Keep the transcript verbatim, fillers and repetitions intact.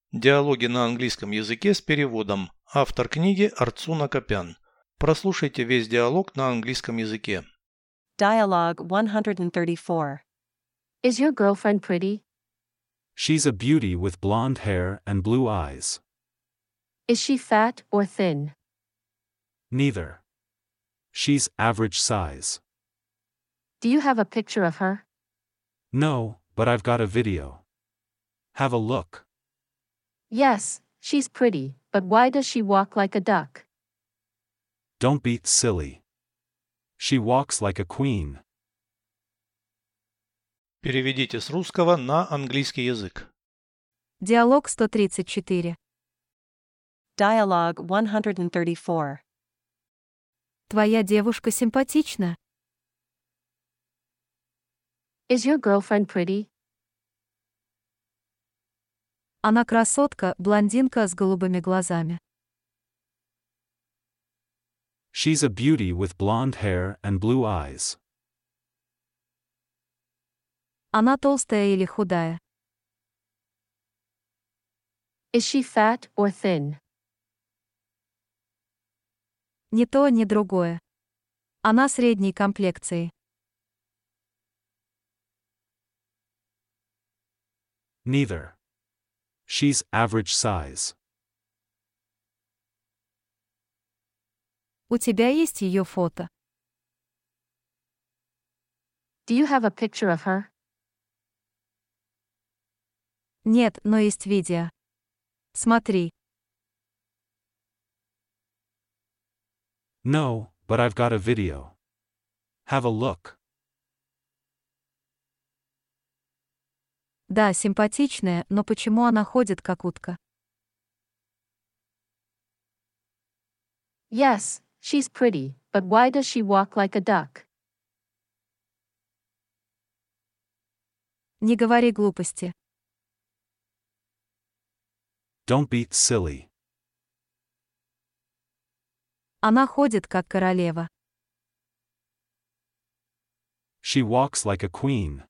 Диалоги на английском языке с переводом. Автор книги Арцуна Копян. Прослушайте весь диалог на английском языке. Dialogue one thirty-four. Is your girlfriend pretty? She's a beauty with blonde hair and blue eyes. Is she fat or thin? Neither. She's average size. Do you have a picture of her? No, but I've got a video. Have a look. Yes, she's pretty, but why does she walk like a duck? Don't be silly. She walks like a queen. Переведите с русского на английский язык. Диалог сто тридцать четыре. Dialogue one thirty-four. Твоя девушка симпатична. Is your girlfriend pretty? Она красотка, блондинка с голубыми глазами. She's a beauty with blonde hair and blue eyes. Она толстая или худая. Is she fat or thin? Ни то, ни другое. Она средней комплекции. Neither. She's average size. У тебя есть ее фото? Do you have a picture of her? Нет, но есть видео. Смотри. No, but I've got a video. Have a look. Да, симпатичная, но почему она ходит как утка? Yes, she's pretty, but why does she walk like a duck? Не говори глупости. Don't be silly. Она ходит как королева. She walks like a queen.